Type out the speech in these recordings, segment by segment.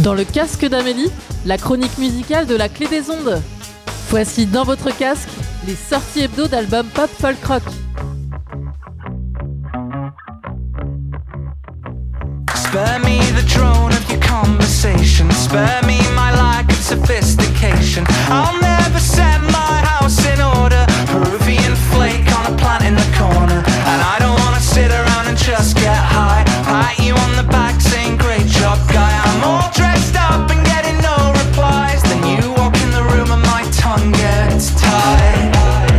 Dans le casque d'Amélie, la chronique musicale de la clé des ondes. Voici dans votre casque les sorties hebdo d'albums pop folk rock. Spare me the drone of your conversation. Spare me my lack of sophistication. I'll never set my house in order. Peruvian flake on a plant in the corner. And I don't wanna sit around and just get high. Pat you on the back saying great job guy. I'm all dressed up and getting no replies. Then you walk in the room and my tongue gets tied.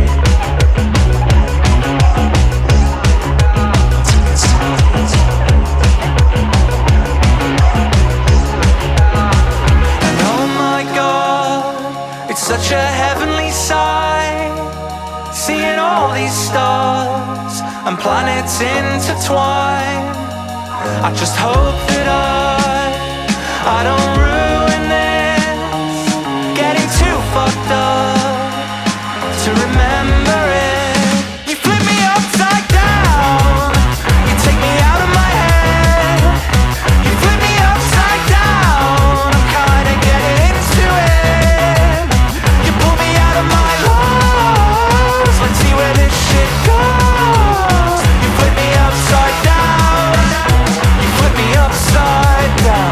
Such a heavenly sight, seeing all these stars and planets intertwine. I just hope that I don't ruin this, getting too fucked up to remember it. You flip me upside down, you take me out of my head. You flip me upside down, I'm kinda getting into it. Let's see where this shit goes. You flip me upside down. You flip me upside down.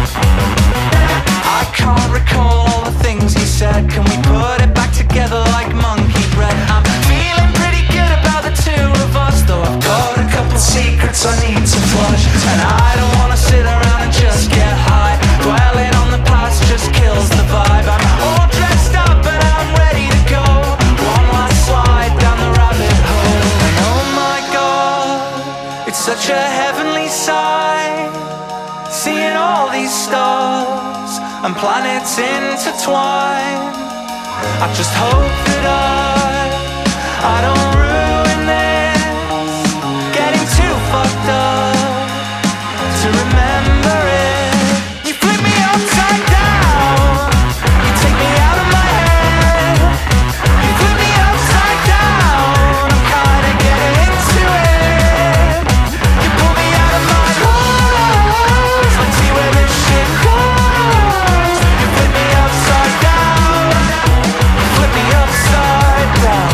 I can't recall all the things you said. Can we put it back together like monkey bread? I'm feeling pretty good about the two of us, though I've got a couple secrets I need to flush. And I don't wanna sit around and just get high. Dwelling on the past just kills the vibe. I'm all dressed up and I'm ready to go. One last slide down the rabbit hole. And oh my God, it's such a heavenly sight, seeing all these stars and planets intertwine. I just hope that I don't ruin this, getting too fucked up to remember it. You flip me upside down, you take me out of my head. You flip me upside down, I'm kinda getting into it. You pull me out of my clothes, let's see where this shit goes. You flip me upside down, you flip me upside down.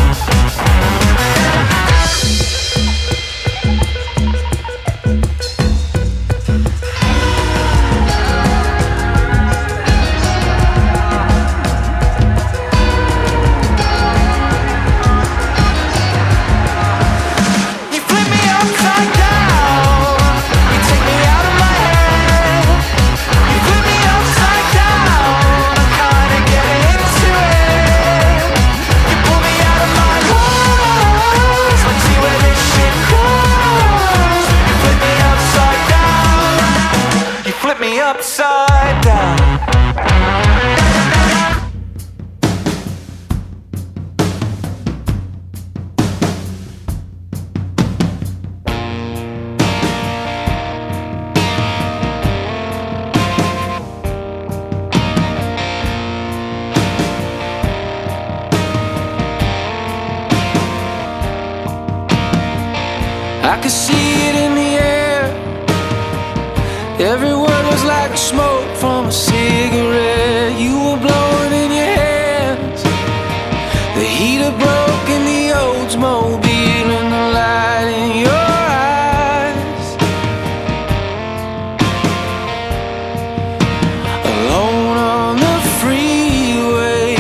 You flip me upside down, you take me out of my head. You flip me upside down, I'm kinda getting into it. You pull me out of my clothes, let's see where this shit goes. You flip me upside down, you flip me upside down. I could see it in the air. Every word was like smoke from a cigarette. You were blowing in your hands. The heater broke in the Oldsmobile and the light in your eyes. Alone on the freeway,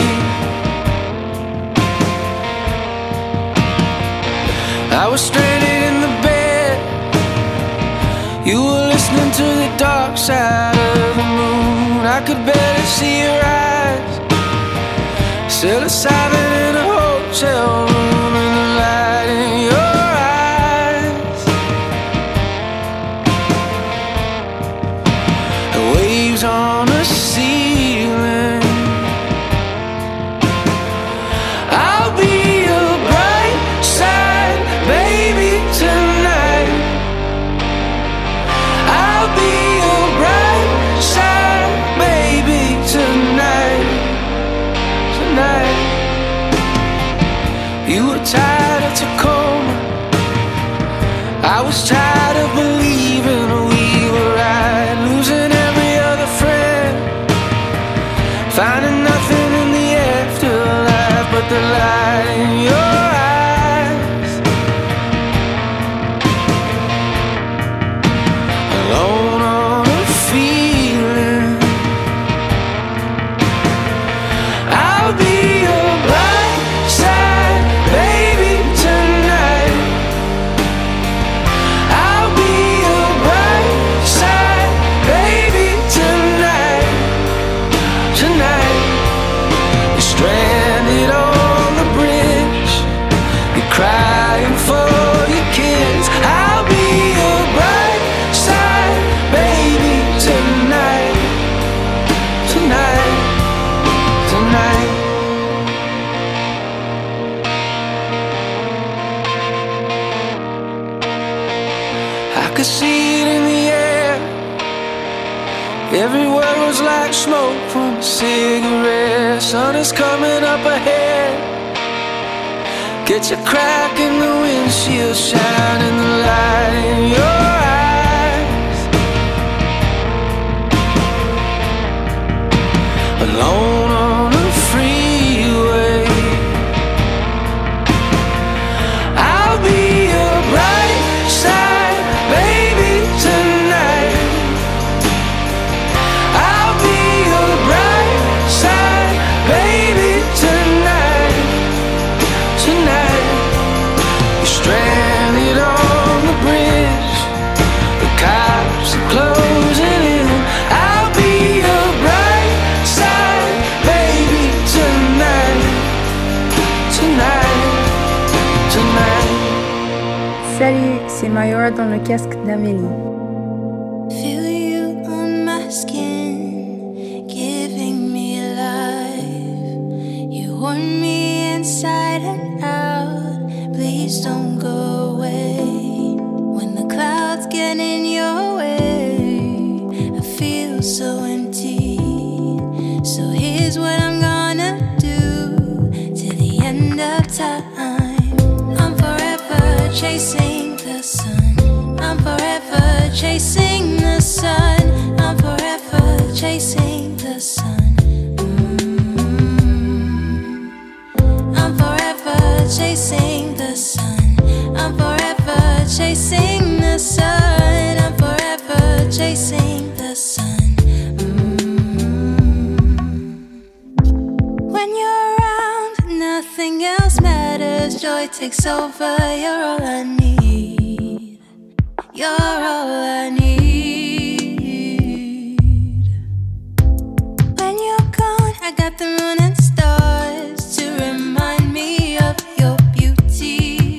I was stranded in the bed. You were listening to the dark side of the moon. I could barely see your eyes. Psilocybin in a hotel room and the light in your eyes. The waves on the ceiling. I'll be your bright side, baby, tonight. I'll be your bright side, baby, tonight. Tonight. You were tired of Tacoma. I was tired of believing we were right, losing every other friend. the light in your eyes. Alone on a feeling, I'll be your bright side, baby, tonight. I'll be your bright side, baby, tonight. Tonight, you're stranded on the bridge, you're crying for your kids. I'll be your bright side, baby, tonight. Tonight, tonight. I could see it in the air. Every word was like smoke from a cigarette. Sun is coming up ahead. Get your crack in the windshield, shining the light in your eyes. Alone on the freeway, I'll be your bright side, baby, tonight. I'll be your bright side, baby, tonight. Tonight, you're stranded on the bridge, the cops are closing in. I'll be your bright side, baby, tonight. Tonight, tonight. Salut, c'est Mayora dans le casque d'Amélie. Feel you on my skin, giving me life. You warm me inside and out. Please don't go away. When the clouds get in your way, I feel so empty. So here's what I'm gonna do till the end of time. I'm forever chasing the sun. I'm forever chasing the sun. I'm forever chasing the sun. I'm forever chasing the sun. I'm forever chasing the sun. I'm forever chasing the sun. When you're around, nothing else matters. Joy takes over. You're all I need. You're all I need. When you're gone, I got the moon and stars to remind me of your beauty.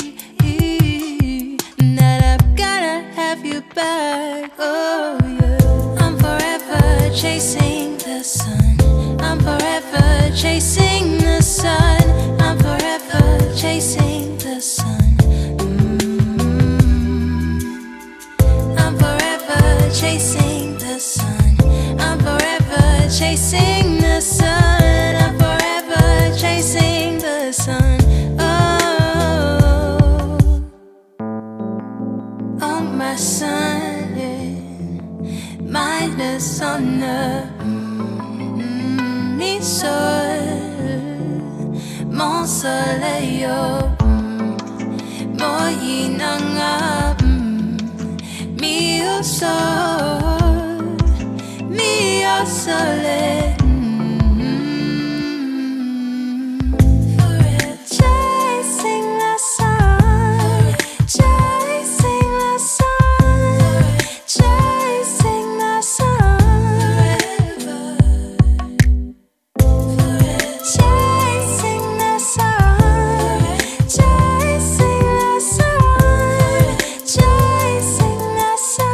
That I've gotta have you back. Oh yeah. I'm forever chasing the sun. I'm forever chasing the sun. I'm forever chasing the sun. I'm forever chasing the sun. I'm forever chasing the sun. I'm forever chasing the sun. Oh my sun, mindless on the mi sol, mon soleil, moyi nanga, mio sol, mio soleil. Chasing the sun, chasing the sun, chasing the sun, chasing the sun, chasing the sun, chasing the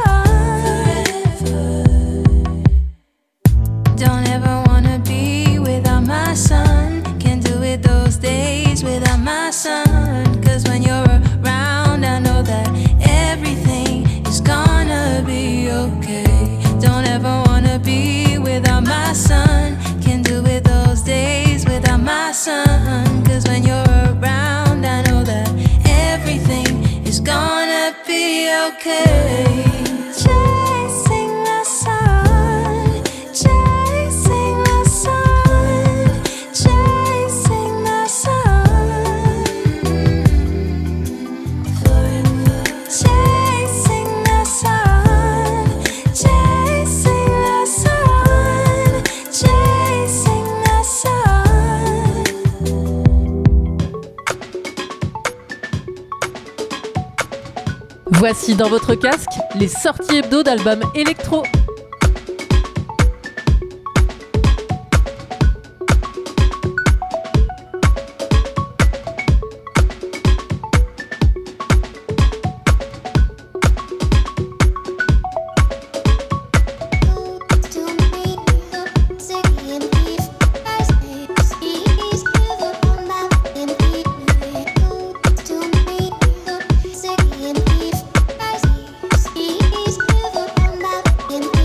sun. Don't ever wanna be without my son. Can't do it those days without my son. 'Cause when you're around, I know that everything is gonna be okay. Don't ever wanna be without my son. Can't do it those days without my son. 'Cause when you're around, I know that everything is gonna be okay. Chasing the sun, chasing the sun, chasing the sun. Voici dans votre casque les sorties hebdo d'albums électro. In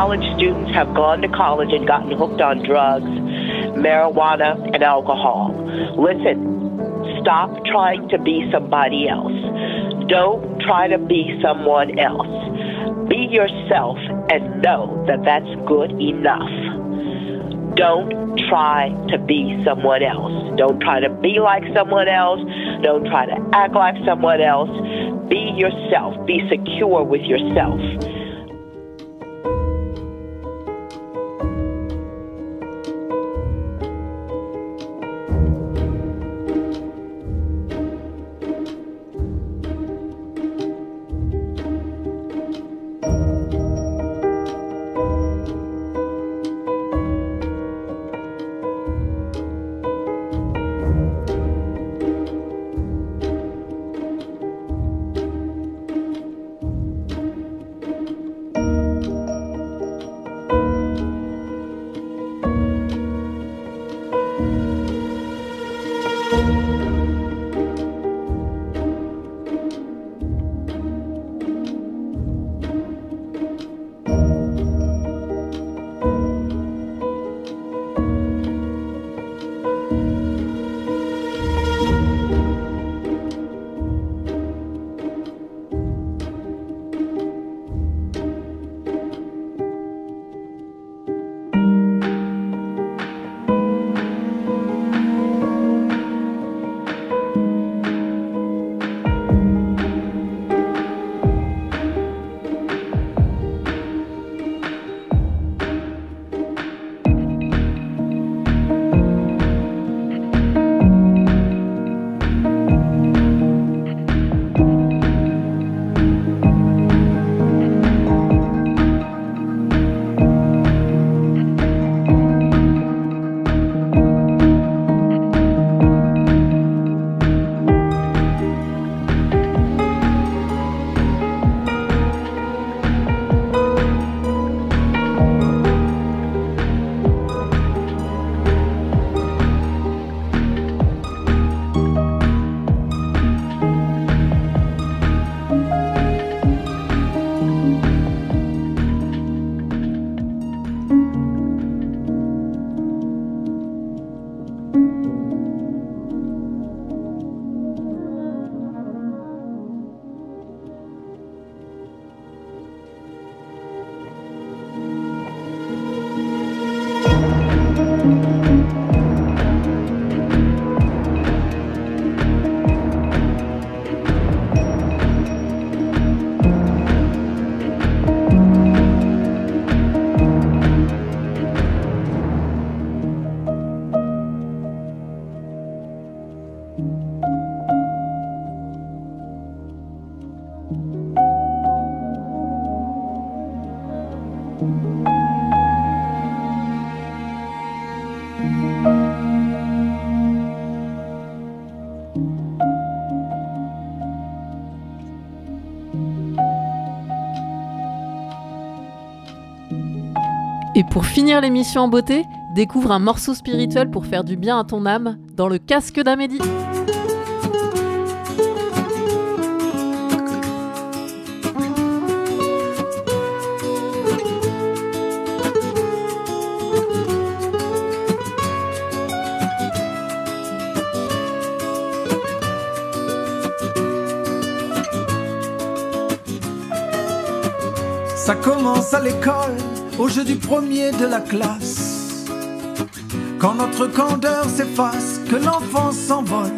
college students have gone to college and gotten hooked on drugs, marijuana, and alcohol. Listen, stop trying to be somebody else. Don't try to be someone else. Be yourself and know that that's good enough. Don't try to be someone else. Don't try to be like someone else. Don't try to act like someone else. Be yourself. Be secure with yourself. Et pour finir l'émission en beauté, découvre un morceau spirituel pour faire du bien à ton âme dans le casque d'Amélie. Ça commence à l'école, au jeu du premier de la classe. Quand notre candeur s'efface, que l'enfant s'envole.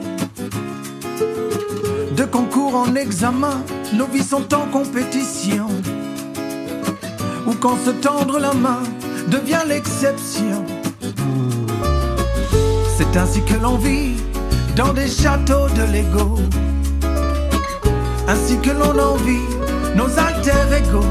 De concours en examen, nos vies sont en compétition. Ou quand se tendre la main devient l'exception. C'est ainsi que l'on vit dans des châteaux de Lego. Ainsi que l'on envie nos alter-égaux.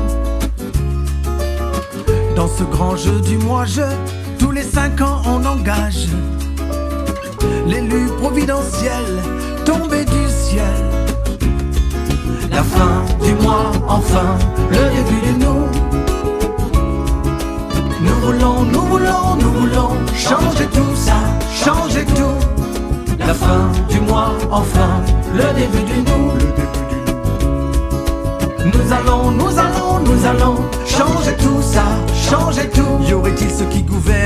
Dans ce grand jeu du moi-je, tous les 5 ans on engage l'élu providentiel tombé du ciel. La fin du mois, enfin, le début du nous. Nous voulons, nous voulons, nous voulons changer tout ça, changer tout. La fin du mois, enfin, le début du nous. Nous allons, nous allons, nous allons changer tout ça,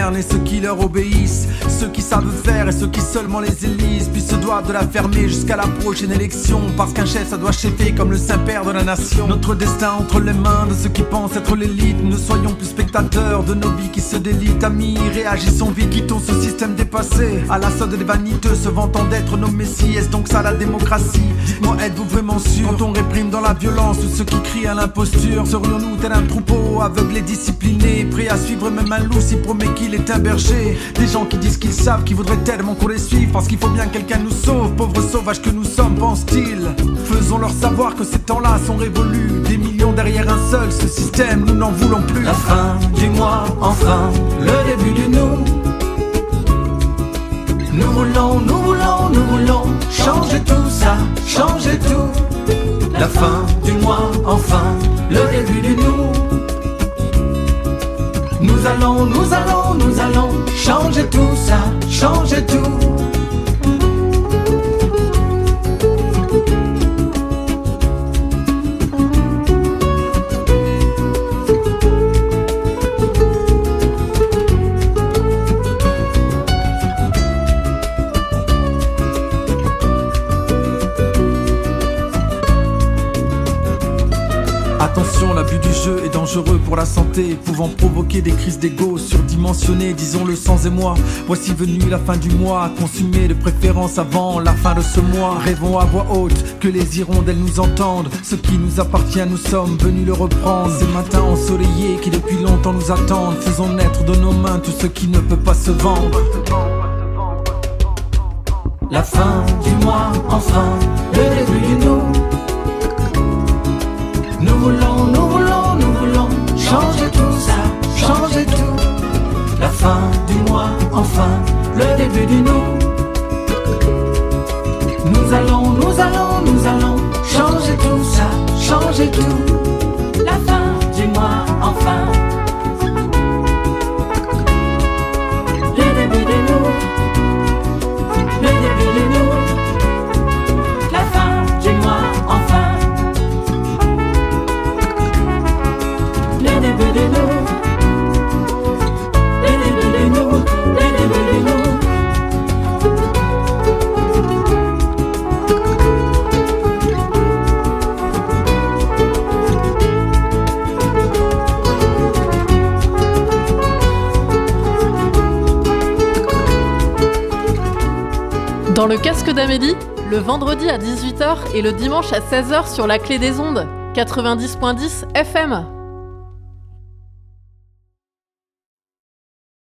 gouvernent et ceux qui leur obéissent, ceux qui savent faire et ceux qui seulement les élisent, puis se doivent de la fermer jusqu'à la prochaine élection, parce qu'un chef ça doit chefer comme le Saint-Père de la nation. Notre destin entre les mains de ceux qui pensent être l'élite, ne soyons plus spectateurs de nos vies qui se délitent. Amis, réagissons vite, quittons ce système dépassé, à la solde des vaniteux se vantant d'être nos messies. Est-ce donc ça la démocratie? Dites-moi, êtes-vous vraiment sûr? Quand on réprime dans la violence tous ceux qui crient à l'imposture, serions-nous tel un troupeau aveugle et discipliné, prêt à suivre même un loup s'il promet qu'il est un berger? Des gens qui disent qu'ils savent, qui voudraient tellement qu'on les suive, parce qu'il faut bien que quelqu'un nous sauve, pauvres sauvages que nous sommes, pensent-ils. Faisons-leur savoir que ces temps-là sont révolus, des millions derrière un seul, ce système nous n'en voulons plus. La fin du mois, enfin, le début du nous. Nous voulons, nous voulons, nous voulons changer tout ça, changer tout. La fin du mois, enfin, le début du nous. Nous allons, nous allons, nous allons changer tout ça, changer tout. Attention, l'abus du jeu est dangereux pour la santé, pouvant provoquer des crises d'ego surdimensionnées, disons-le sans émoi. Voici venue la fin du mois, consumée de préférence avant la fin de ce mois. Rêvons à voix haute que les hirondelles nous entendent, ce qui nous appartient nous sommes venus le reprendre. Ces matins ensoleillés qui depuis longtemps nous attendent, faisons naître de nos mains tout ce qui ne peut pas se vendre. La fin du mois, enfin, le début du nous. Nous voulons, nous voulons, nous voulons changer tout ça, changer tout. La fin du mois, enfin, le début du nous. Nous allons, nous allons, nous allons changer tout ça, changer tout. La fin du mois, enfin, le début du nous. Le début du nous. La fin du mois, enfin. Le début de nous, le début de nous, le début de nous. Dans le casque d'Amélie, le vendredi à 18h et le dimanche à 16h sur la Clé des Ondes, 90.10 FM.